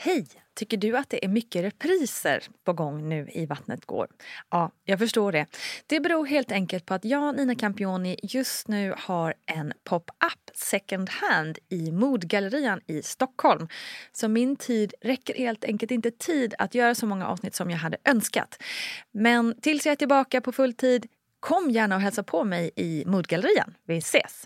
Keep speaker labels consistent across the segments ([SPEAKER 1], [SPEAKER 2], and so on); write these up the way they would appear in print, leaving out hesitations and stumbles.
[SPEAKER 1] Hej! Tycker du att det är mycket repriser på gång nu i Vattnet går? Ja, jag förstår det. Det beror helt enkelt på att jag, Nina Campioni, just nu har en pop-up second hand i Modgallerian i Stockholm. Så min tid räcker helt enkelt inte tid att göra så många avsnitt som jag hade önskat. Men tills jag är tillbaka på full tid, kom gärna och hälsa på mig i Modgallerian. Vi ses!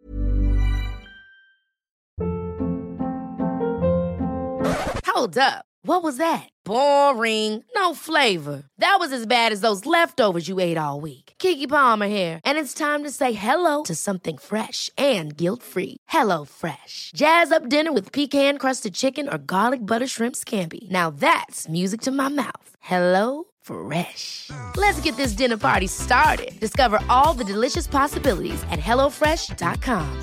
[SPEAKER 2] Hold up. What was that? Boring. No flavor. That was as bad as those leftovers you ate all week. Keke Palmer here, and it's time to say hello to something fresh and guilt-free. Hello Fresh. Jazz up dinner with pecan-crusted chicken or garlic butter shrimp scampi. Now that's music to my mouth. Hello Fresh. Let's get this dinner party started. Discover all the delicious possibilities at hellofresh.com.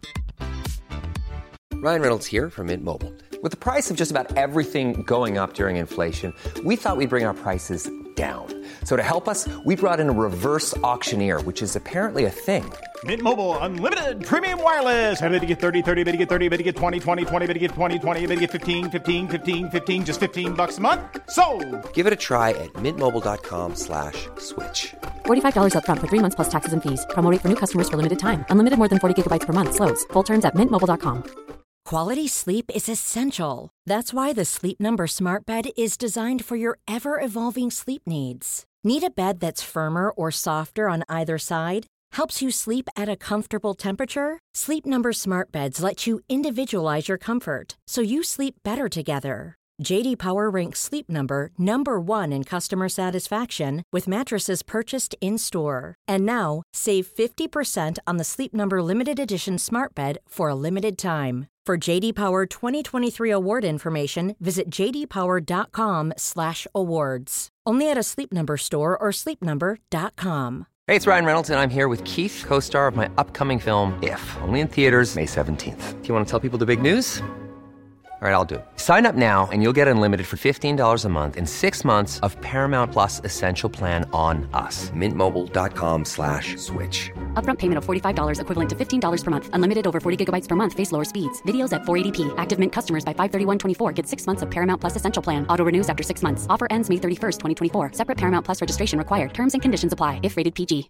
[SPEAKER 3] Ryan Reynolds here from Mint Mobile. With the price of just about everything going up during inflation, we thought we'd bring our prices down. So to help us, we brought in a reverse auctioneer, which is apparently a thing.
[SPEAKER 4] Mint Mobile Unlimited Premium Wireless. How to get 30, 30, bit to get 30, bit to get 20, 20, 20, bit to get 20, 20, bit to get 15, 15, 15, 15, just $15 a month? Sold!
[SPEAKER 3] Give it a try at mintmobile.com/switch.
[SPEAKER 5] $45 up front for 3 months plus taxes and fees. Promo rate for new customers for limited time. Unlimited more than 40 gigabytes per month. Slows full terms at mintmobile.com.
[SPEAKER 6] Quality sleep is essential. That's why the Sleep Number Smart Bed is designed for your ever-evolving sleep needs. Need a bed that's firmer or softer on either side? Helps you sleep at a comfortable temperature? Sleep Number Smart Beds let you individualize your comfort, so you sleep better together. J.D. Power ranks Sleep Number #1 in customer satisfaction with mattresses purchased in-store. And now, save 50% on the Sleep Number Limited Edition Smart Bed for a limited time. For J.D. Power 2023 award information, visit jdpower.com/awards. Only at a Sleep Number store or sleepnumber.com.
[SPEAKER 3] Hey, it's Ryan Reynolds, and I'm here with Keith, co-star of my upcoming film, If, only in theaters May 17th. Do you want to tell people the big news? All right, I'll do it. Sign up now and you'll get unlimited for $15 a month and 6 months of Paramount Plus Essential Plan on us. Mintmobile.com/switch.
[SPEAKER 5] Upfront payment of $45 equivalent to $15 per month. Unlimited over 40 gigabytes per month. Face lower speeds. Videos at 480p. Active Mint customers by 531.24 get 6 months of Paramount Plus Essential Plan. Auto renews after 6 months. Offer ends May 31st, 2024. Separate Paramount Plus registration required. Terms and conditions apply if rated PG.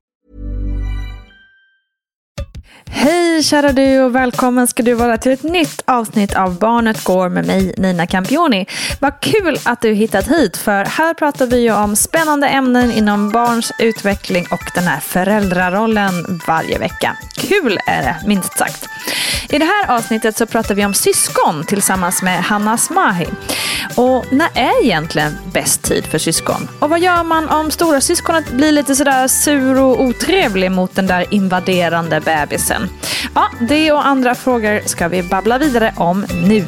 [SPEAKER 1] Hej kära du och välkommen ska du vara till ett nytt avsnitt av Barnet går med mig, Nina Campioni. Vad kul att du hittat hit, för här pratar vi ju om spännande ämnen inom barns utveckling och den här föräldrarollen varje vecka. Kul är det, minst sagt. I det här avsnittet så pratar vi om syskon tillsammans med Hanna Asmahi. Och när är egentligen bäst tid för syskon? Och vad gör man om stora syskonet blir lite sådär sur och otrevlig mot den där invaderande bebisen? Ja, det och andra frågor ska vi babbla vidare om nu.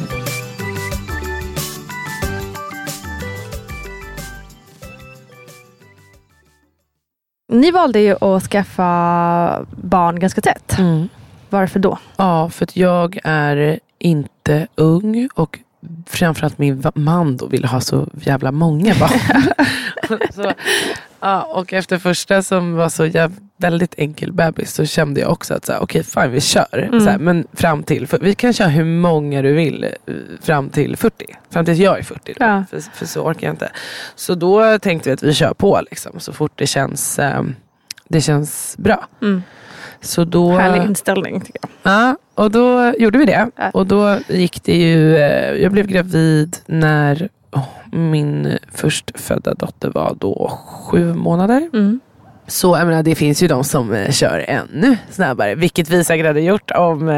[SPEAKER 1] Ni valde ju att skaffa barn ganska tätt. Varför då?
[SPEAKER 7] Ja, för att jag är inte ung och framförallt min man då ville ha så jävla många barn. Så, ja, och efter första som var så väldigt enkel bebis så kände jag också att okej, fine, vi kör. Så här, men fram till, för vi kan köra hur många du vill fram till 40. Fram till jag är 40 då, ja. för så orkar jag inte. Så då tänkte vi att vi kör på liksom, så fort det känns bra. Så då,
[SPEAKER 1] härlig inställning tycker jag.
[SPEAKER 7] Ja, och då gjorde vi det. Ja. Och då gick det ju, jag blev gravid när min förstfödda dotter var då 7 månader. Så jag menar, det finns ju de som kör ännu snabbare, vilket vi säkert hade gjort om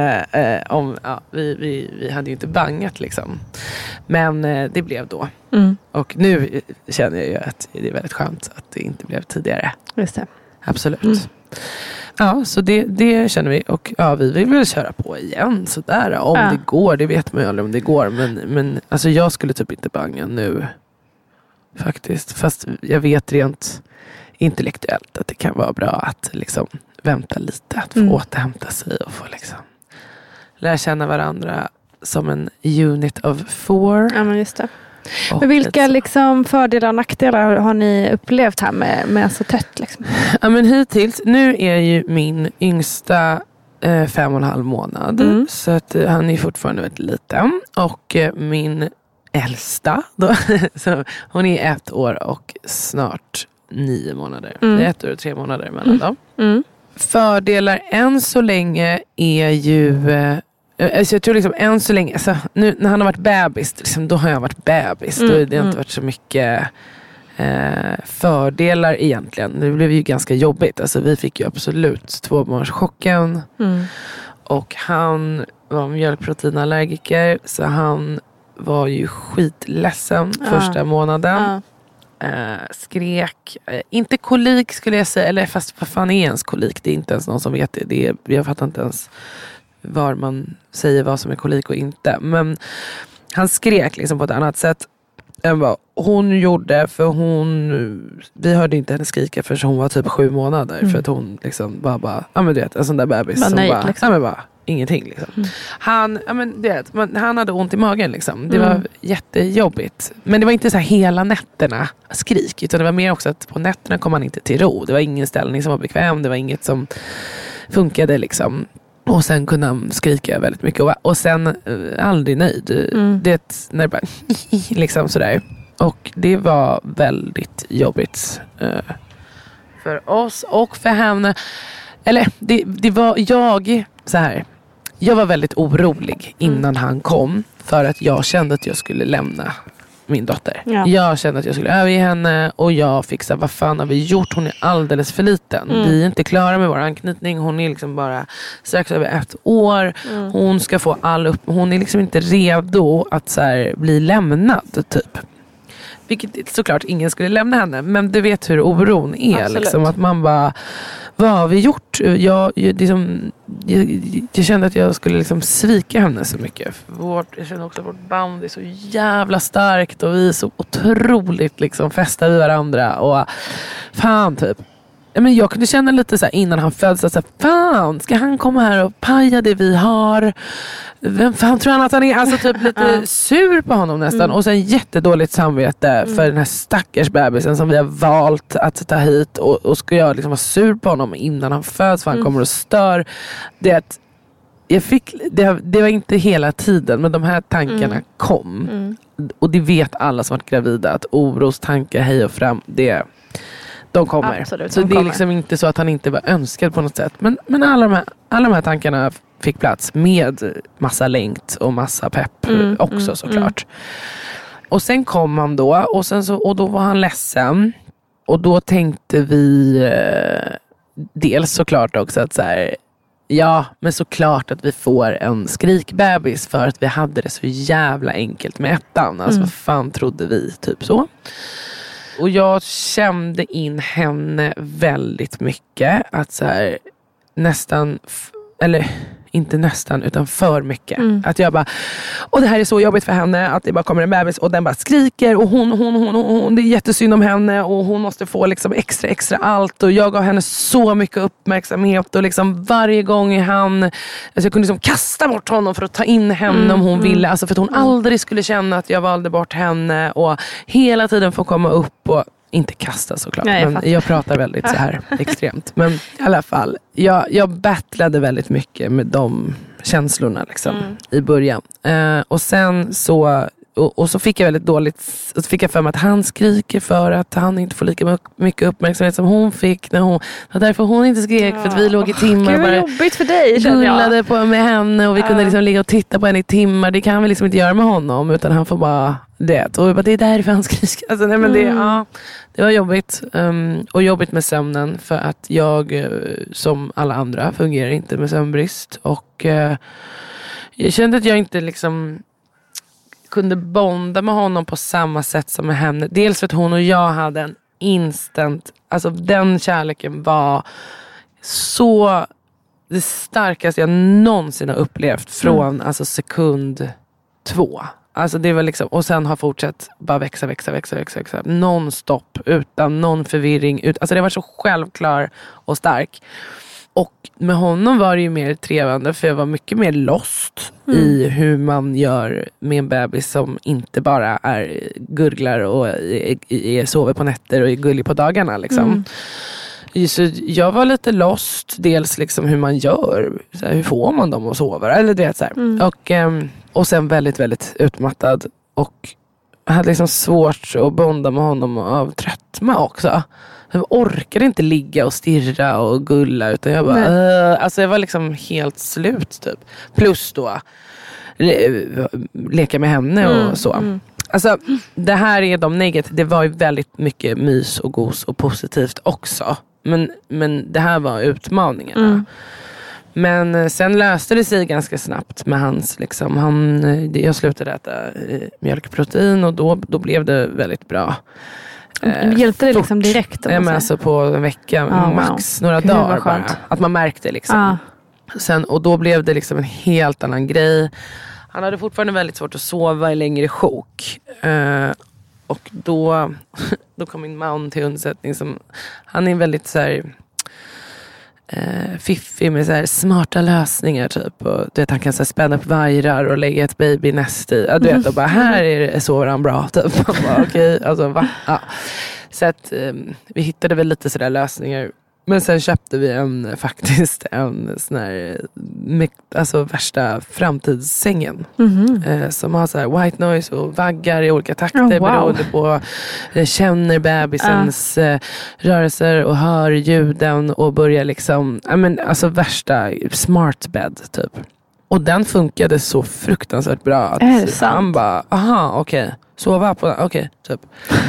[SPEAKER 7] vi hade ju inte bangat liksom. Men det blev då. Och nu känner jag ju att det är väldigt skönt att det inte blev tidigare.
[SPEAKER 1] Just det.
[SPEAKER 7] Absolut. Ja, så det känner vi. Och ja, vi vill väl köra på igen sådär. Om det går, det vet man ju aldrig om det går. Men alltså jag skulle typ inte banga nu. Faktiskt. Fast jag vet rent intellektuellt att det kan vara bra att liksom vänta lite. Att få återhämta sig och få liksom lära känna varandra som en unit of 4.
[SPEAKER 1] Ja, men just det. Men vilka liksom fördelar och nackdelar har ni upplevt här med så tätt liksom?
[SPEAKER 7] Ja, men hittills, nu är ju min yngsta 5,5 månad. Så att han är fortfarande väldigt liten. Och min äldsta då. Så hon är 1 år och snart 9 månader. Det är 1 år och 3 månader mellan dem. Fördelar än så länge är ju alltså jag tror liksom än så länge, alltså, nu när han har varit bebis liksom, då har jag varit bebis. Då har det inte varit så mycket fördelar egentligen. Det blev ju ganska jobbigt. Alltså, vi fick ju absolut 2-barnschocken. Och han var mjölkproteinallergiker, så han var ju skitledsen första månaden. Skrek. Inte kolik skulle jag säga, eller fast vad fan är ens kolik? Det är inte ens någon som vet det. Jag fattar inte ens var man säger vad som är kolik och inte. Men han skrek liksom på ett annat sätt än vad hon gjorde, för vi hörde inte henne skrika förrän hon var typ 7 månader. För att hon liksom bara ja men du vet, en sån där bebis som bara, liksom. Ja men bara ingenting liksom. Han hade ont i magen liksom. Det var jättejobbigt. Men det var inte så här hela nätterna skrik, utan det var mer också att på nätterna kom han inte till ro. Det var ingen ställning som var bekväm, det var inget som funkade liksom. Och sen kunde han skrika väldigt mycket. Och sen aldrig nöjd. Det när det bara liksom sådär. Och det var väldigt jobbigt för oss och för henne. Eller det var jag var väldigt orolig innan han kom. För att jag kände att jag skulle lämna min dotter. Ja. Jag kände att jag skulle överge henne och jag fick säga, vad fan har vi gjort? Hon är alldeles för liten. Vi är inte klara med vår anknytning. Hon är liksom bara strax över 1 år. Hon ska få hon är liksom inte redo att så här, bli lämnad typ. Vilket såklart ingen skulle lämna henne. Men du vet hur oron är. Liksom, att man bara, vad har vi gjort? Jag kände att jag skulle liksom svika henne så mycket. Jag kände också att vårt band är så jävla starkt. Och vi är så otroligt liksom fästa vid varandra. Och fan typ. Men jag kunde känna lite så här innan han föddes så här, fan, ska han komma här och paja det vi har? Vem fan tror han att han är? Alltså typ lite sur på honom nästan. Och sen jättedåligt samvete för den här stackars bebisen som vi har valt att ta hit. Och ska jag liksom vara sur på honom innan han föds, för han kommer och stör. Det var inte hela tiden, men de här tankarna kom. Och det vet alla som varit gravida, att orostankar hej och fram, de kommer. Absolut, så det är liksom inte så att han inte var önskad på något sätt. Men alla de här tankarna fick plats med massa längt och massa pepp också såklart. Och sen kom han då och då var han ledsen. Och då tänkte vi dels såklart också att så här, ja, men såklart att vi får en skrikbebis, för att vi hade det så jävla enkelt med 1:an. Alltså vad fan trodde vi, typ så. Och jag kände in henne väldigt mycket. Att så här, nästan, eller inte nästan, utan för mycket. Att jag bara, och det här är så jobbigt för henne, att det bara kommer en bebis och den bara skriker. Och hon det är jättesynd om henne. Och hon måste få liksom extra allt. Och jag gav henne så mycket uppmärksamhet. Och liksom varje gång alltså jag kunde liksom kasta bort honom för att ta in henne om hon ville. Alltså för att hon aldrig skulle känna att jag valde bort henne. Och hela tiden få komma upp och inte kasta såklart. Nej, men jag pratar väldigt så här extremt. Men i alla fall, jag battlade väldigt mycket med de känslorna liksom, i början. Och sen så och så fick jag väldigt dåligt, och så fick jag för mig att han skriker för att han inte får lika mycket uppmärksamhet som hon fick när hon, och därför hon inte skrek, för att vi låg i timmar och bara
[SPEAKER 1] jobbigt för dig,
[SPEAKER 7] gullade på med henne, och vi kunde liksom ligga och titta på henne i timmar. Det kan vi liksom inte göra med honom, utan han får bara det. Och det är därför han skriker. Alltså, nej, men det var jobbigt. Och jobbigt med sömnen, för att jag som alla andra fungerar inte med sömnbrist. Och jag kände att jag inte liksom kunde bonda med honom på samma sätt som med henne. Dels för att hon och jag hade en instant, alltså den kärleken var så det starkaste jag någonsin har upplevt från alltså sekund 2. Alltså det var liksom, och sen har fortsatt bara växa non-stop, utan någon förvirring, alltså det var så självklar och stark. Och med honom var det ju mer trevande, för jag var mycket mer lost i hur man gör med en bebis som inte bara är gurglar och sover på nätter och är gullig på dagarna liksom. Så jag var lite lost, dels liksom hur man gör, så här, hur får man dem att sova, eller det så här. Och sen väldigt, väldigt utmattad. Och hade liksom svårt att bonda med honom av tröttma också. Jag orkade inte ligga och stirra och gulla, utan jag bara alltså jag var liksom helt slut typ. Plus då leka med henne och så. Alltså det här är de negativa. Det var ju väldigt mycket mys och gos och positivt också. Men det här var utmaningarna. Men sen löste det sig ganska snabbt med hans liksom, jag slutade äta mjölkprotein och då blev det väldigt bra.
[SPEAKER 1] Hjälpte det liksom direkt?
[SPEAKER 7] Men alltså på en vecka, max några dagar bara. Att man märkte liksom. Sen, och då blev det liksom en helt annan grej. Han hade fortfarande väldigt svårt att sova i längre sjok. Och då kom min man till undsättning som, han är väldigt så här fiffig med så här smarta lösningar typ, och du vet, han kan så här spänna upp vajrar och lägga ett babynest i, du vet, och bara här sover han bra typ. Okej, alltså va? Ja. Så att vi hittade väl lite sådär lösningar. Men sen köpte vi faktiskt en sån här, alltså värsta framtidssängen. Som har så här white noise och vaggar i olika takter beroende på, känner bebisens rörelser och hör ljuden och börjar liksom, alltså värsta smart bed typ. Och den funkade så fruktansvärt bra att han bara, okej. Sova på den, okej, typ.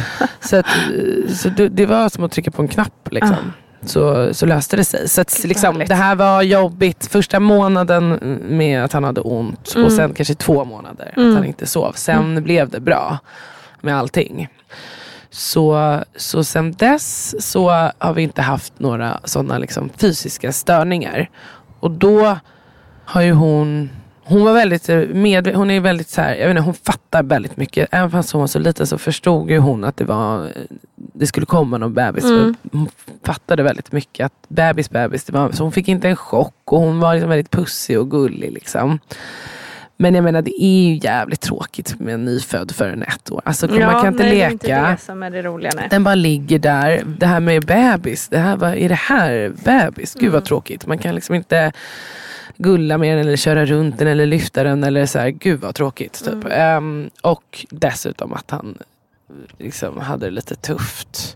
[SPEAKER 7] Så det var som att trycka på en knapp liksom. Så löste det sig. Så att, liksom, det här var jobbigt första månaden med att han hade ont. Och sen kanske 2 månader att han inte sov. Sen blev det bra med allting. Så sen dess så har vi inte haft några sådana liksom fysiska störningar. Och då har ju hon var väldigt hon är väldigt så här, jag vet inte, hon fattar väldigt mycket. Även fast hon var så liten så förstod ju hon att det skulle komma någon bebis. Hon fattade väldigt mycket att bebis det var, så hon fick inte en chock och hon var liksom väldigt pussig och gullig liksom. Men jag menar, det är ju jävligt tråkigt med en nyfödd för en 1 år. Alltså man kan inte leka. Det är inte
[SPEAKER 1] det som är det roliga. Nej.
[SPEAKER 7] Den bara ligger där. Det här med bebis, vad är det här bebis? Gud vad tråkigt. Man kan liksom inte gulla med den eller köra runt den eller lyfta den eller så här, gud vad tråkigt typ. Och dessutom att han liksom hade det lite tufft.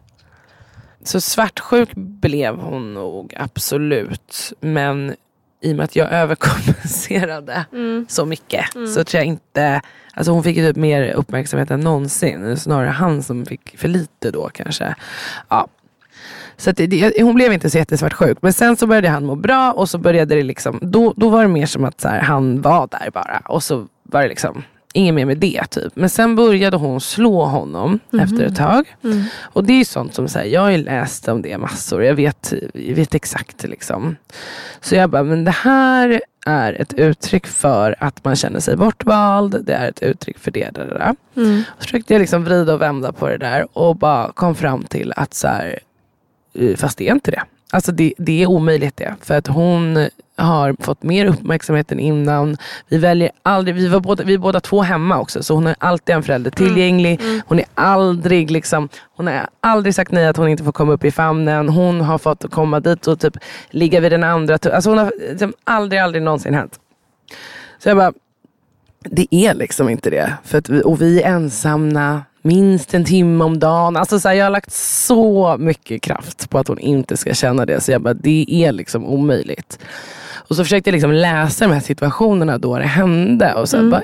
[SPEAKER 7] Så svartsjuk blev hon nog absolut, men i och med att jag överkompenserade så mycket så tror jag inte, alltså hon fick ju typ mer uppmärksamhet än någonsin, snarare han som fick för lite då kanske. Ja. Så att hon blev inte så jättesvartsjuk. Men sen så började han må bra. Och så började det liksom, då var det mer som att så här, han var där bara. Och så var det liksom inget mer med det typ. Men sen började hon slå honom efter ett tag. Och det är ju sånt som så här, jag har ju läst om det massor. Jag vet exakt liksom. Så jag bara, men det här är ett uttryck för att man känner sig bortvald. Det är ett uttryck för det där. Och så försökte jag liksom vrida och vända på det där. Och bara kom fram till att så här, fast det är inte det. Alltså det är omöjligt det. För att hon har fått mer uppmärksamhet än innan. Vi väljer aldrig, vi är båda 2 hemma också. Så hon är alltid en förälder tillgänglig. Hon är aldrig liksom, hon har aldrig sagt nej att hon inte får komma upp i famnen. Hon har fått komma dit och typ ligga vid den andra. Alltså hon har liksom aldrig någonsin hänt. Så jag bara, det är liksom inte det. För att och vi är ensamma minst 1 timme om dagen. Alltså så här, jag har lagt så mycket kraft på att hon inte ska känna det. Så jag bara, det är liksom omöjligt. Och så försökte jag liksom läsa de här situationerna då det hände. Och så här, bara,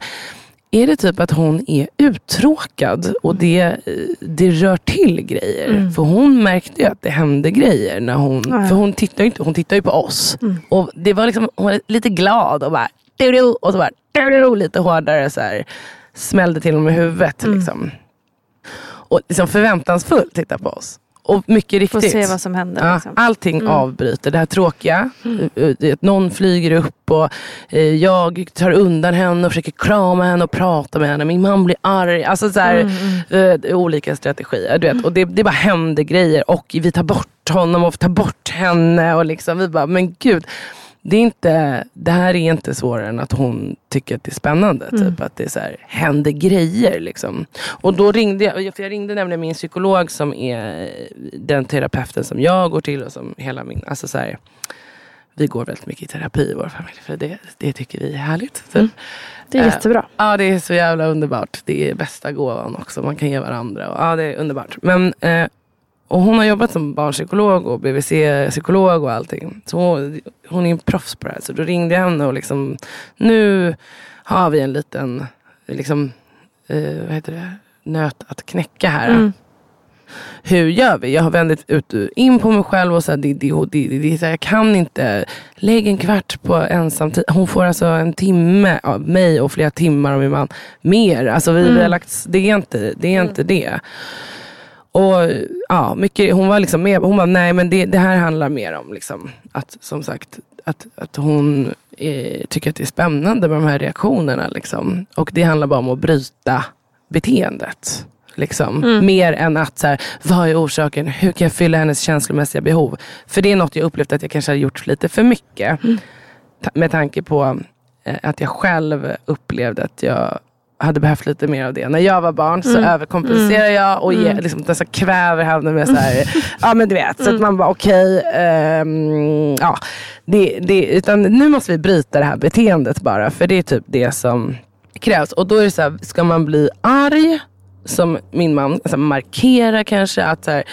[SPEAKER 7] är det typ att hon är uttråkad och det rör till grejer? För hon märkte ju att det hände grejer när för hon tittar ju på oss. Och det var liksom, hon var lite glad och bara och så bara lite hårdare så här, smällde till honom i huvudet liksom. Och liksom förväntansfullt titta på oss. Och mycket riktigt.
[SPEAKER 1] Får se vad som händer. Liksom.
[SPEAKER 7] Allting avbryter. Det här tråkiga. Någon flyger upp och jag tar undan henne och försöker krama henne och prata med henne. Min man blir arg. Alltså så här, olika strategier. Du vet. Och det bara händer grejer. Och vi tar bort honom och tar bort henne. Och liksom vi bara, men gud. Det här är inte svårare än att hon tycker att det är spännande. Typ att det är så här, händer grejer liksom. Och då ringde jag ringde nämligen min psykolog som är den terapeuten som jag går till och som hela min, alltså så här, vi går väldigt mycket i terapi i vår familj. För det tycker vi är härligt. Typ.
[SPEAKER 1] Det är jättebra.
[SPEAKER 7] Ja, det är så jävla underbart. Det är bästa gåvan också. Man kan ge varandra. Och, ja, det är underbart. Men, och hon har jobbat som barnpsykolog och BVC-psykolog och allting. Så hon är en proffs på det här. Så då ringde jag henne och liksom, nu har vi en liten liksom, vad heter det? Nöt att knäcka här. Hur gör vi? Jag har vänt in på mig själv och så här, jag kan inte lägga en kvart på ensam tid. Hon får alltså en timme av mig och flera timmar av min man mer. Alltså vi har lagt, det är inte det. Och ja, mycket, hon var liksom med, hon var nej, men det här handlar mer om liksom att, som sagt, att hon tycker att det är spännande med de här reaktionerna liksom. Och det handlar bara om att bryta beteendet. Liksom. Mer än att så här, vad är orsaken? Hur kan jag fylla hennes känslomässiga behov? För det är något jag upplevt att jag kanske har gjort lite för mycket. Med tanke på att jag själv upplevde att jag hade behövt lite mer av det. När jag var barn så överkompenserar jag och liksom, så kväver henne med så här, ja men du vet, så att man bara okej, ja, utan nu måste vi bryta det här beteendet bara, för det är typ det som krävs. Och då är det så här, ska man bli arg som min man, alltså markera kanske att så här,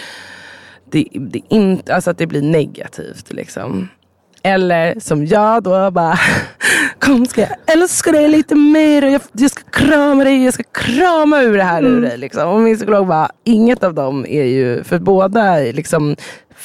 [SPEAKER 7] det inte, alltså att det blir negativt liksom. Eller som jag då bara, kom ska jag älska dig lite mer och jag ska krama dig, jag ska krama ur det här ur dig liksom. Och min psykolog bara, inget av dem är ju, för båda liksom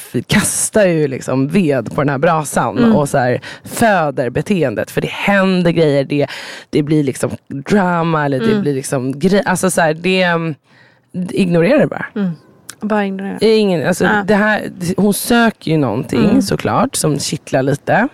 [SPEAKER 7] kastar ju liksom ved på den här brasan och så här föder beteendet, för det händer grejer, det blir liksom drama eller det blir liksom alltså så här, det ignorerar det bara.
[SPEAKER 1] Bara ignorera.
[SPEAKER 7] Det här, hon söker ju någonting såklart som kittlar lite.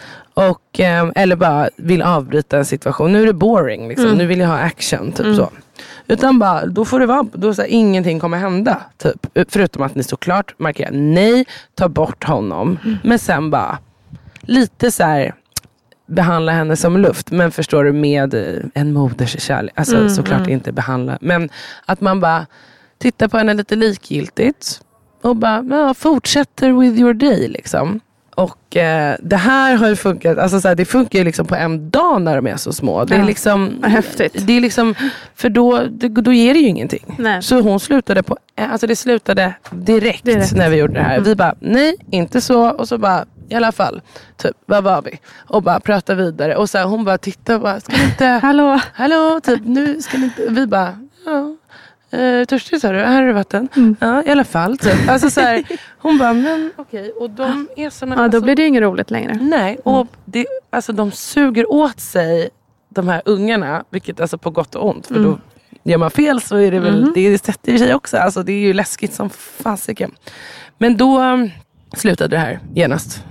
[SPEAKER 7] Och, eller bara vill avbryta en situation. Nu är det boring liksom. Nu vill jag ha action typ så. Utan bara, då får det vara, då så här, ingenting kommer hända typ. Förutom att ni såklart markerar nej, ta bort honom. Men sen bara lite så här, behandla henne som luft, men förstår du, med en moders kärlek. Alltså såklart inte behandla, men att man bara tittar på henne lite likgiltigt och bara fortsätter with your day liksom. Och det här har ju funkat, alltså så här, det funkar ju liksom på en dag när de är så små. Det är liksom
[SPEAKER 1] häftigt.
[SPEAKER 7] Det är liksom, för då ger det ju ingenting.
[SPEAKER 1] Nej.
[SPEAKER 7] Så hon slutade det slutade direkt när vi gjorde det här. Vi bara, nej, inte så. Och så bara, i alla fall, typ, vad var vi? Och bara prata vidare. Och så här, hon bara tittar och bara, ska ni inte hallå, typ, nu ska ni inte, vi bara, ja. Törstig sa du, här är det vatten. Ja, i alla fall typ. Alltså så här, hon bara, men okej. Och de är såna,
[SPEAKER 1] ja, då blir det ju inget roligt längre.
[SPEAKER 7] Nej, och alltså de suger åt sig de här ungarna, vilket alltså på gott och ont, för då gör man fel så är det väl, det sätter sig också, alltså det är ju läskigt som fasiken. Men då slutade det här genast.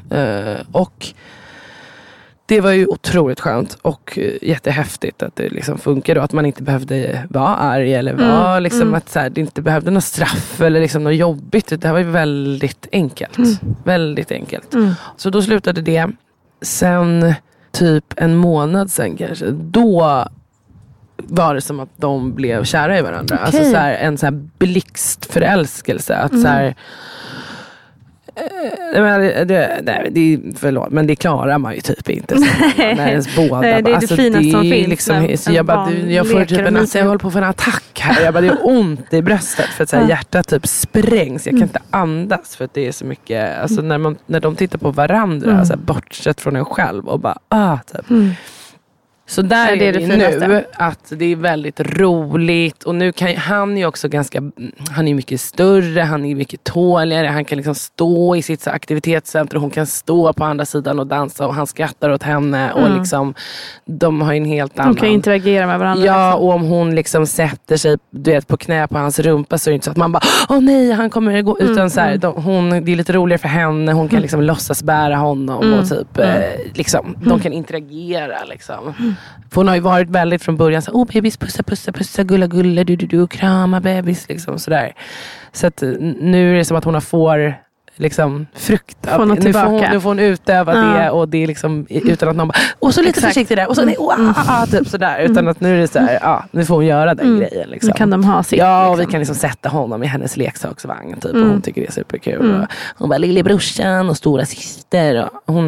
[SPEAKER 7] Och det var ju otroligt skönt och jättehäftigt att det liksom funkar och att man inte behövde vara arg eller vara liksom att så här, det inte behövde något straff eller liksom något jobbigt. Det här var ju väldigt enkelt. Väldigt enkelt. Så då slutade det. Sen typ en månad sen kanske, då var det som att de blev kära i varandra. Okay. Alltså så här, en så här blixtförälskelse att så här, förlåt, men det klarar man ju typ inte när ens båda.
[SPEAKER 1] Nej, det är alltså, det finaste som finns
[SPEAKER 7] liksom, så jag får typ jag håller på att få en attack här. Jag bara, det är ont i bröstet för att så här, hjärtat typ sprängs. Jag kan inte andas för att det är så mycket, alltså när de tittar på varandra så här, bortsett från en själv och bara typ. Så där är det nu att det är väldigt roligt och nu kan han är också han är mycket större, han är mycket tåligare, han kan liksom stå i sitt aktivitetscenter och hon kan stå på andra sidan och dansa och han skrattar åt henne och liksom de har en helt annan.
[SPEAKER 1] De kan interagera med varandra.
[SPEAKER 7] Ja, liksom. Och om hon liksom sätter sig på knä på hans rumpa så är det inte så att man bara, nej han kommer gå, utan så här, det är lite roligare för henne, hon kan liksom låtsas bära honom och typ liksom, de kan interagera liksom. För hon har ju varit väldigt från början så bebis, pussa, gulla, du krama bebis liksom sådär. Så att nu är det som att hon får liksom frukt. Nu får hon utöva det och det är liksom utan att någon bara, och så lite försiktigt där och så typ sådär, utan att nu är det så här, nu får hon göra den grejen liksom.
[SPEAKER 1] Nu kan de ha sitt.
[SPEAKER 7] Ja, och
[SPEAKER 1] liksom.
[SPEAKER 7] vi kan liksom sätta honom i hennes leksaksvagn typ och hon tycker det är superkul. Och hon bara, lillebrorsan och stora syster och hon fattar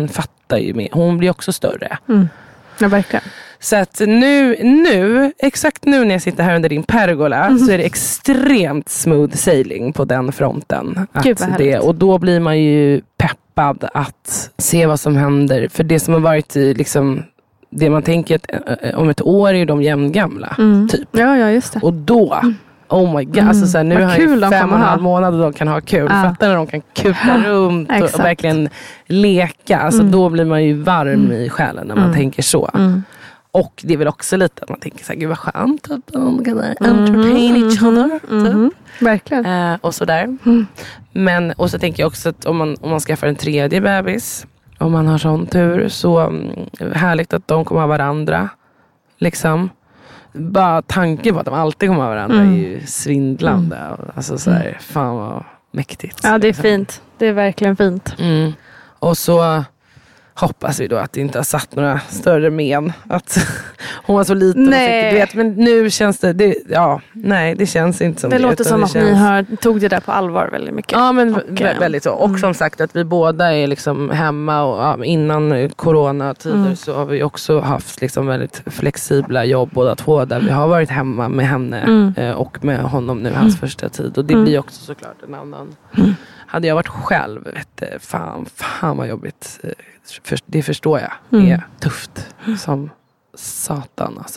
[SPEAKER 7] fattar ju mer. Hon blir också större.
[SPEAKER 1] Ja, verkligen.
[SPEAKER 7] Så att nu, exakt nu när jag sitter här under din pergola så är det extremt smooth sailing på den fronten.
[SPEAKER 1] Gud, vad härligt.
[SPEAKER 7] Och då blir man ju peppad att se vad som händer. För det som har varit liksom, det man tänker att om ett år är ju de jämngamla typ.
[SPEAKER 1] Ja, just det.
[SPEAKER 7] Och då, oh my god, alltså så här, nu har jag 5,5 månader och de kan ha kul. Fattar när de kan kuta runt och verkligen leka. Alltså då blir man ju varm i själen när man tänker så. Och det är väl också lite att man tänker så här, gud vad skönt att de kan entertain each other.
[SPEAKER 1] Verkligen.
[SPEAKER 7] Och sådär. Men, och så tänker jag också att om man skaffar en tredje bebis, om man har sån tur, så härligt att de kommer ha varandra. Liksom. Bara tanken på att de alltid kommer ha varandra är ju svindlande. Alltså så här, fan vad mäktigt.
[SPEAKER 1] Ja, det är fint. Det är verkligen fint.
[SPEAKER 7] Och så hoppas vi då att det inte har satt några större men. Att hon var så liten.
[SPEAKER 1] Nej.
[SPEAKER 7] Du vet, men nu känns det det känns inte som det.
[SPEAKER 1] Det låter som att ni tog det där på allvar väldigt mycket.
[SPEAKER 7] Ja, men väldigt så. Och som sagt att vi båda är liksom hemma och innan coronatider så har vi också haft liksom väldigt flexibla jobb båda två, där vi har varit hemma med henne och med honom nu hans första tid. Och det blir också såklart en annan. Hade jag varit själv, fan vad jobbigt. Det förstår jag är tufft som satan alltså.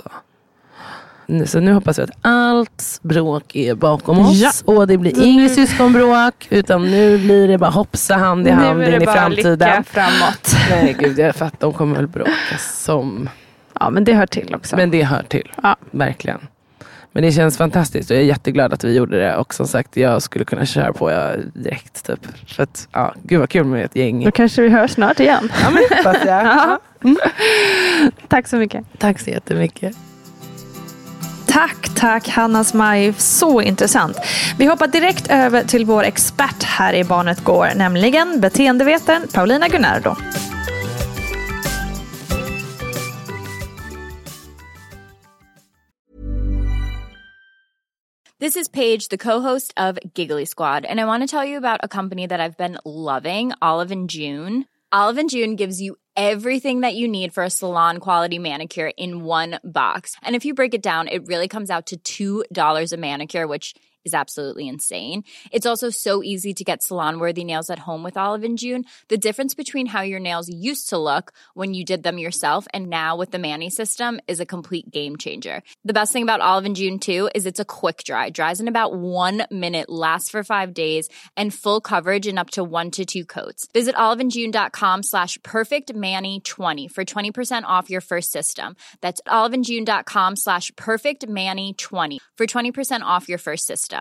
[SPEAKER 7] Så nu hoppas jag att allt bråk är bakom oss och det blir inget syskonbråk, utan nu blir det bara hoppsa hand i hand in i framtiden.
[SPEAKER 1] Lycka framåt.
[SPEAKER 7] Nej gud, jag fattar, de kommer väl bråka som...
[SPEAKER 1] Ja, men det hör till också.
[SPEAKER 7] Men det hör till, verkligen. Men det känns fantastiskt och jag är jätteglad att vi gjorde det. Och som sagt, jag skulle kunna köra på direkt typ. För att, gud vad kul med ett gäng.
[SPEAKER 1] Då kanske vi hörs snart igen.
[SPEAKER 7] Ja, men hoppas jag.
[SPEAKER 1] Tack så mycket.
[SPEAKER 7] Tack så jättemycket.
[SPEAKER 1] Tack Hanna Smaj, så intressant. Vi hoppar direkt över till vår expert här i Barnet Går, nämligen beteendevetaren Paulina Gunnardo.
[SPEAKER 8] This is Paige, the co-host of Giggly Squad, and I want to tell you about a company that I've been loving, Olive & June. Olive & June gives you everything that you need for a salon-quality manicure in one box. And if you break it down, it really comes out to $2 a manicure, which is absolutely insane. It's also so easy to get salon-worthy nails at home with Olive & June. The difference between how your nails used to look when you did them yourself and now with the Mani system is a complete game changer. The best thing about Olive & June, too, is it's a quick dry. Dries in about 1 minute, lasts for 5 days, and full coverage in up to 1 to 2 coats. Visit oliveandjune.com/perfectmani20 for 20% off your first system. That's oliveandjune.com/perfectmani20 for 20% off your first system.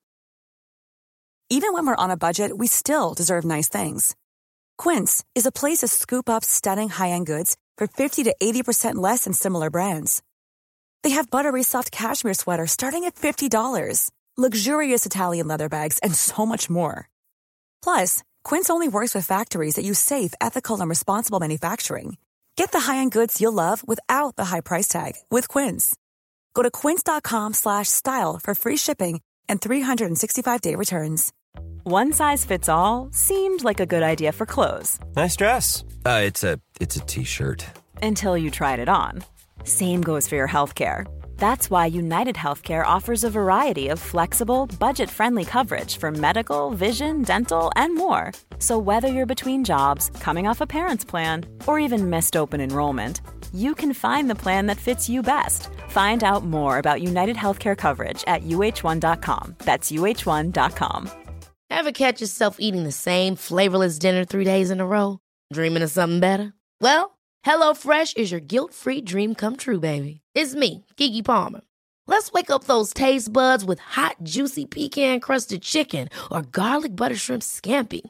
[SPEAKER 9] Even when we're on a budget, we still deserve nice things. Quince is a place to scoop up stunning high-end goods for 50 to 80% less than similar brands. They have buttery soft cashmere sweaters starting at $50, luxurious Italian leather bags, and so much more. Plus, Quince only works with factories that use safe, ethical, and responsible manufacturing. Get the high-end goods you'll love without the high price tag with Quince. Go to quince.com/style for free shipping and 365-day returns.
[SPEAKER 10] One size fits all seemed like a good idea for clothes.
[SPEAKER 11] Nice dress. It's a t-shirt.
[SPEAKER 10] Until you tried it on. Same goes for your healthcare. That's why United Healthcare offers a variety of flexible, budget-friendly coverage for medical, vision, dental, and more. So whether you're between jobs, coming off a parent's plan, or even missed open enrollment, you can find the plan that fits you best. Find out more about United Healthcare coverage at uh1.com. That's uh1.com.
[SPEAKER 2] Ever catch yourself eating the same flavorless dinner 3 days in a row? Dreaming of something better? Well, HelloFresh is your guilt-free dream come true, baby. It's me, Keke Palmer. Let's wake up those taste buds with hot, juicy pecan-crusted chicken or garlic butter shrimp scampi.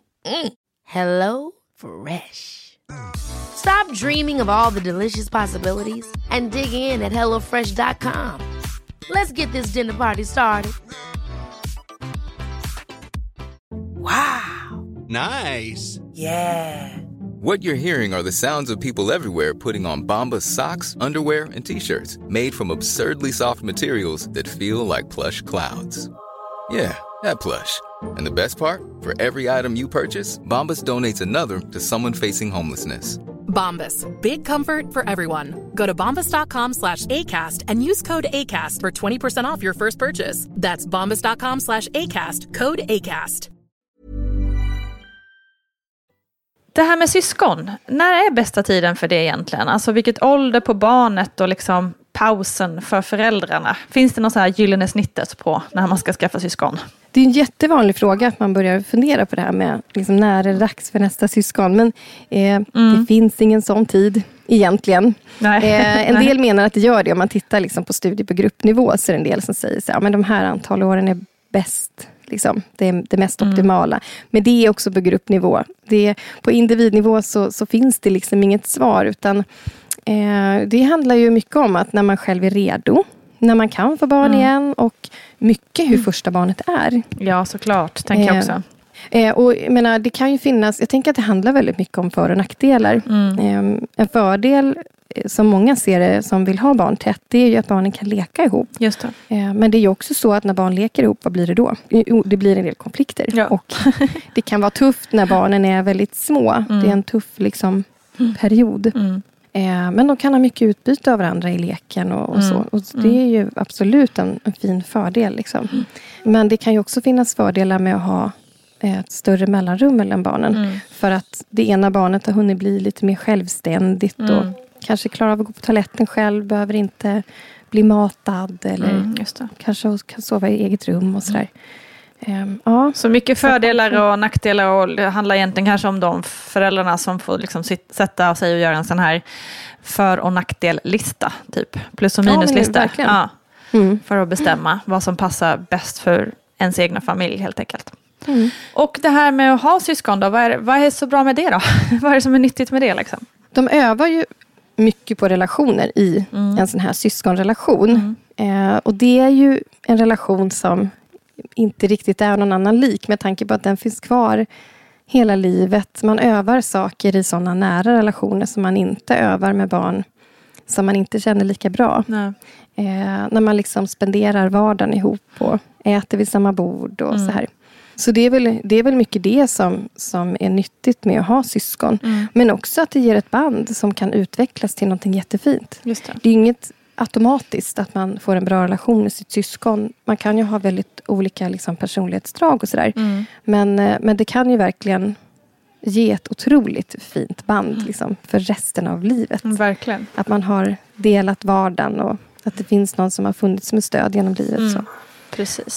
[SPEAKER 2] HelloFresh. Stop dreaming of all the delicious possibilities and dig in at HelloFresh.com. Let's get this dinner party started.
[SPEAKER 9] Wow.
[SPEAKER 12] Nice.
[SPEAKER 9] Yeah.
[SPEAKER 12] What you're hearing are the sounds of people everywhere putting on Bombas socks, underwear, and T-shirts made from absurdly soft materials that feel like plush clouds. Yeah, that plush. And the best part? For every item you purchase, Bombas donates another to someone facing homelessness.
[SPEAKER 13] Bombas. Big comfort for everyone. Go to bombas.com/ACAST and use code ACAST for 20% off your first purchase. That's bombas.com/ACAST. Code ACAST.
[SPEAKER 1] Det här med syskon, när är bästa tiden för det egentligen? Alltså vilket ålder på barnet och liksom pausen för föräldrarna? Finns det något så här gyllene snittet på när man ska skaffa syskon?
[SPEAKER 14] Det är en jättevanlig fråga att man börjar fundera på det här med liksom, när är det dags för nästa syskon. Men det finns ingen sån tid egentligen. En del menar att det gör det. Om man tittar liksom, på studier på gruppnivå så är det en del som säger så här, men de här antal åren är bäst. Liksom, det är det mest optimala. Men det är också på gruppnivå. På individnivå så finns det liksom inget svar. Utan det handlar ju mycket om att när man själv är redo. När man kan få barn igen. Och mycket hur första barnet är.
[SPEAKER 1] Ja, såklart. Tänker jag också.
[SPEAKER 14] Och jag menar, det kan ju finnas. Jag tänker att det handlar väldigt mycket om för- och nackdelar. En fördel som många ser det som vill ha barn tätt, det är ju att barnen kan leka ihop.
[SPEAKER 1] Just det.
[SPEAKER 14] Men det är ju också så att när barn leker ihop, vad blir det då? Det blir en del konflikter. Ja. Och det kan vara tufft när barnen är väldigt små. Det är en tuff liksom, period. Men de kan ha mycket utbyte av varandra i leken och så. Och det är ju absolut en fin fördel. Liksom. Men det kan ju också finnas fördelar med att ha ett större mellanrum mellan barnen. För att det ena barnet har hunnit bli lite mer självständigt och kanske klarar av att gå på toaletten själv, behöver inte bli matad eller kanske kan sova i eget rum och sådär. Ja.
[SPEAKER 1] Så mycket fördelar och nackdelar, och det handlar egentligen kanske om de föräldrarna som får liksom sätta sig och göra en sån här för- och nackdellista, typ plus- och minuslista. För att bestämma vad som passar bäst för ens egna familj helt enkelt. Och det här med att ha syskon då, vad är så bra med det då? Vad är det som är nyttigt med det liksom?
[SPEAKER 14] De övar ju mycket på relationer i en sån här syskonrelation. Och det är ju en relation som inte riktigt är någon annan lik, med tanke på att den finns kvar hela livet. Man övar saker i sådana nära relationer som man inte övar med barn som man inte känner lika bra. När man liksom spenderar vardagen ihop och äter vid samma bord och så här. Så det är väl mycket det som är nyttigt med att ha syskon. Men också att det ger ett band som kan utvecklas till någonting jättefint.
[SPEAKER 1] Just det.
[SPEAKER 14] Det är inget automatiskt att man får en bra relation med sitt syskon. Man kan ju ha väldigt olika liksom, personlighetsdrag och sådär. Men det kan ju verkligen ge ett otroligt fint band liksom, för resten av livet.
[SPEAKER 1] Verkligen.
[SPEAKER 14] Att man har delat vardagen och att det finns någon som har funnits med stöd genom livet. Så.
[SPEAKER 1] Precis.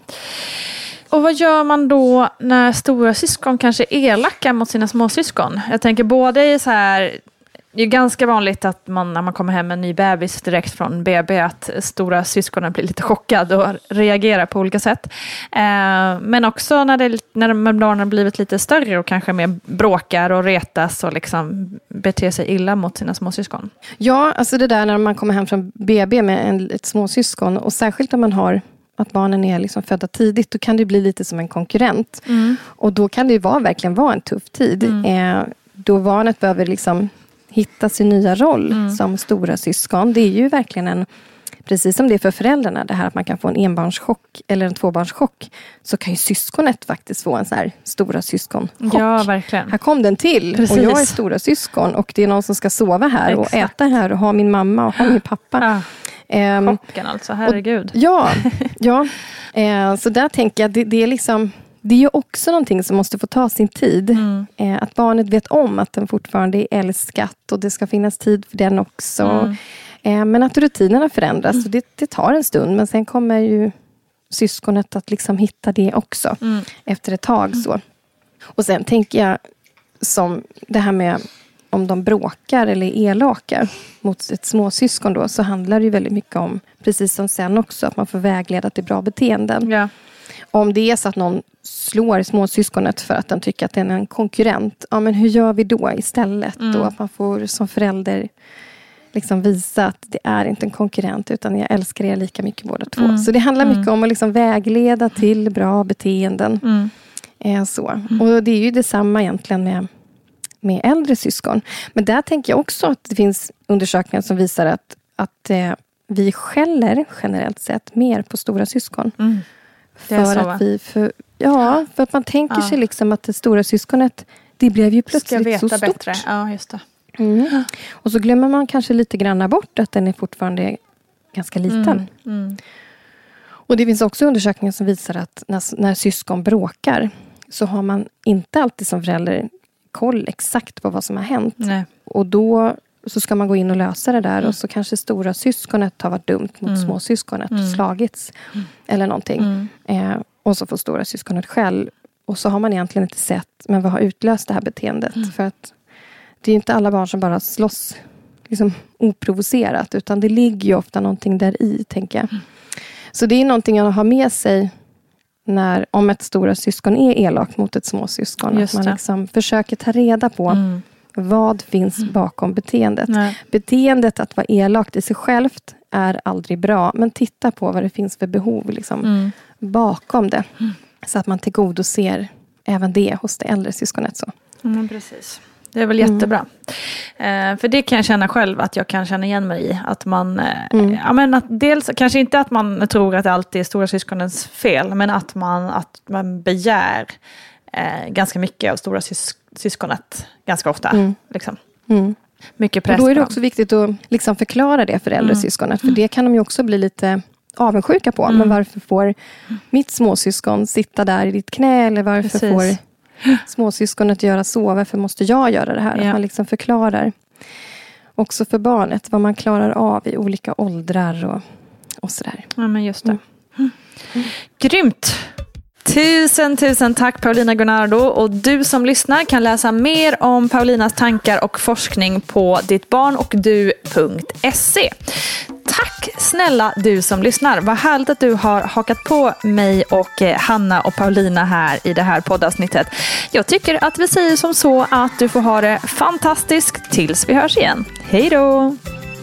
[SPEAKER 1] Och vad gör man då när stora syskon kanske är elaka mot sina småsyskon? Jag tänker både i så här, det är ganska vanligt att man när man kommer hem med en ny bebis direkt från BB att stora syskonen blir lite chockade och reagerar på olika sätt. Men också när barnen har blivit lite större och kanske mer bråkar och retas och liksom beter sig illa mot sina småsyskon.
[SPEAKER 14] Ja, alltså det där när man kommer hem från BB med ett småsyskon, och särskilt om man har att barnen är liksom födda tidigt, då kan det bli lite som en konkurrent. Och då kan det ju verkligen vara en tuff tid. Då barnet behöver liksom hitta sin nya roll som stora syskon. Det är ju verkligen precis som det är för föräldrarna, det här att man kan få en enbarnschock eller en tvåbarnschock, så kan ju syskonet faktiskt få en så här stora syskonchock.
[SPEAKER 1] Ja, verkligen.
[SPEAKER 14] Här kom den till. Precis. Och jag är stora syskon och det är någon som ska sova här och äta här och ha min mamma och ha min pappa.
[SPEAKER 1] Chocken alltså, herregud.
[SPEAKER 14] Så där tänker jag, det är liksom, det är ju också någonting som måste få ta sin tid. Att barnet vet om att den fortfarande är älskat och det ska finnas tid för den också. Men att rutinerna förändras, och det tar en stund, men sen kommer ju syskonet att liksom hitta det också efter ett tag. Så. Och sen tänker jag som det här med om de bråkar eller är elaka mot ett småsyskon då, så handlar det ju väldigt mycket om, precis som sen också, att man får vägleda till bra beteenden.
[SPEAKER 1] Ja.
[SPEAKER 14] Om det är så att någon slår småsyskonet för att den tycker att den är en konkurrent, ja men hur gör vi då istället? Då att man får som förälder liksom visa att det är inte en konkurrent, utan jag älskar er lika mycket båda två. Så det handlar mycket om att liksom vägleda till bra beteenden. Och det är ju detsamma egentligen med äldre syskon. Men där tänker jag också att det finns undersökningar som visar att vi skäller generellt sett mer på stora syskon. För att man tänker sig liksom att det stora syskonet, det blev ju plötsligt så stort.
[SPEAKER 1] Ja, just det.
[SPEAKER 14] Och så glömmer man kanske lite grann bort att den är fortfarande ganska liten. Och det finns också undersökningar som visar att när syskon bråkar så har man inte alltid som förälder koll exakt på vad som har hänt.
[SPEAKER 1] Nej.
[SPEAKER 14] Och då så ska man gå in och lösa det där. Och så kanske stora syskonet har varit dumt mot små syskonet och slagits. Eller någonting. Och så får stora syskonet själv. Och så har man egentligen inte sett, men vad har utlöst det här beteendet? För att det är inte alla barn som bara slåss liksom oprovocerat. Utan det ligger ju ofta någonting där i, tänker jag. Så det är någonting jag har med sig om ett stora syskon är elak mot ett småsyskon. Att man liksom försöker ta reda på vad finns bakom beteendet. Beteendet att vara elakt i sig självt är aldrig bra. Men titta på vad det finns för behov liksom, bakom det. Så att man tillgodoser även det hos det äldre syskonet. Så.
[SPEAKER 1] Precis. Det är väl jättebra. För det kan jag känna själv att jag kan känna igen mig i. Att man, att dels kanske inte att man tror att det alltid är stora syskonens fel. Men att man begär ganska mycket av stora syskonet ganska ofta. Liksom. Mycket press.
[SPEAKER 14] Och då är det också viktigt att liksom förklara det för äldre syskonet. För det kan de ju också bli lite avundsjuka på. Men varför får mitt småsyskon sitta där i ditt knä? Eller varför får småsyskonet göra så? Varför måste jag göra det här? Att man liksom förklarar också för barnet vad man klarar av i olika åldrar och sådär.
[SPEAKER 1] Ja, men just det. Grymt! Tusen tack Paulina Gunnardo, och du som lyssnar kan läsa mer om Paulinas tankar och forskning på dittbarnochddu.se. Tack snälla du som lyssnar. Vad härligt att du har hakat på mig och Hanna och Paulina här i det här poddavsnittet. Jag tycker att vi säger som så att du får ha det fantastiskt tills vi hörs igen. Hej då!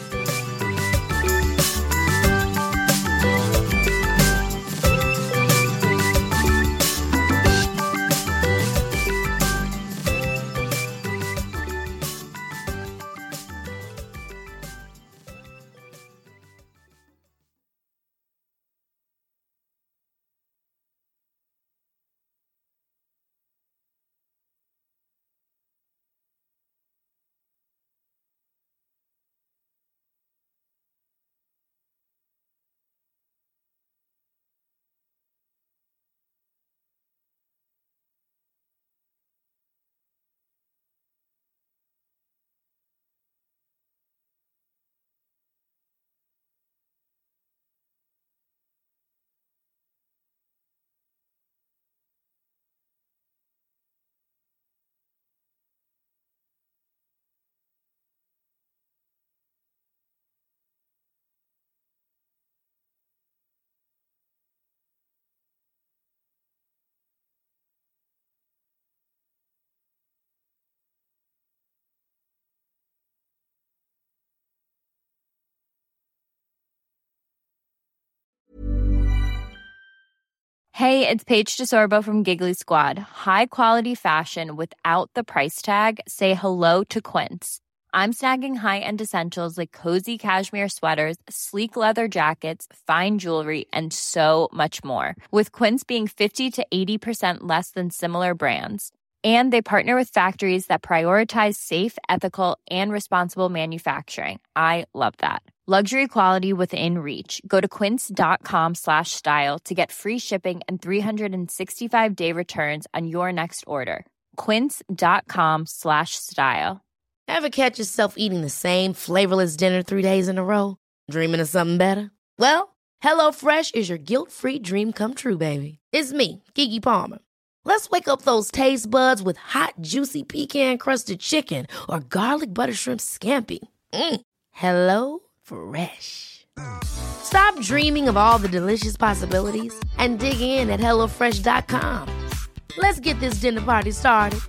[SPEAKER 8] Hey, it's Paige DeSorbo from Giggly Squad. High quality fashion without the price tag. Say hello to Quince. I'm snagging high-end essentials like cozy cashmere sweaters, sleek leather jackets, fine jewelry, and so much more. With Quince being 50 to 80% less than similar brands. And they partner with factories that prioritize safe, ethical, and responsible manufacturing. I love that. Luxury quality within reach. Go to quince.com/style to get free shipping and 365-day returns on your next order. Quince.com/style.
[SPEAKER 2] Ever catch yourself eating the same flavorless dinner 3 days in a row? Dreaming of something better? Well, HelloFresh is your guilt-free dream come true, baby. It's me, Keke Palmer. Let's wake up those taste buds with hot, juicy pecan-crusted chicken or garlic butter shrimp scampi. Hello Fresh. Stop dreaming of all the delicious possibilities and dig in at HelloFresh.com. Let's get this dinner party started.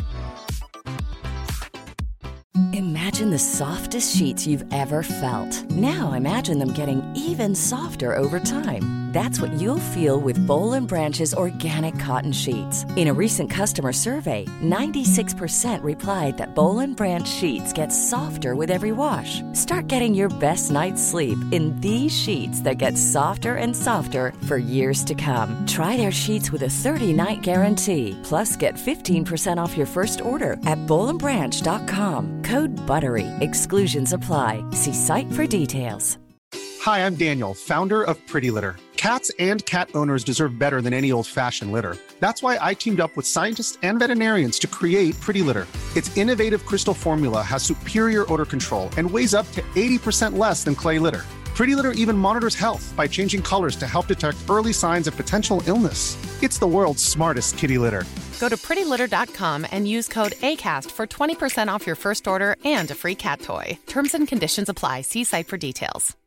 [SPEAKER 15] Imagine the softest sheets you've ever felt. Now imagine them getting even softer over time. That's what you'll feel with Boll & Branch's organic cotton sheets. In a recent customer survey, 96% replied that Boll & Branch sheets get softer with every wash. Start getting your best night's sleep in these sheets that get softer and softer for years to come. Try their sheets with a 30-night guarantee. Plus, get 15% off your first order at bollandbranch.com. Code BUTTERY. Exclusions apply. See site for details.
[SPEAKER 16] Hi, I'm Daniel, founder of Pretty Litter. Cats and cat owners deserve better than any old-fashioned litter. That's why I teamed up with scientists and veterinarians to create Pretty Litter. Its innovative crystal formula has superior odor control and weighs up to 80% less than clay litter. Pretty Litter even monitors health by changing colors to help detect early signs of potential illness. It's the world's smartest kitty litter.
[SPEAKER 13] Go to prettylitter.com and use code ACAST for 20% off your first order and a free cat toy. Terms and conditions apply. See site for details.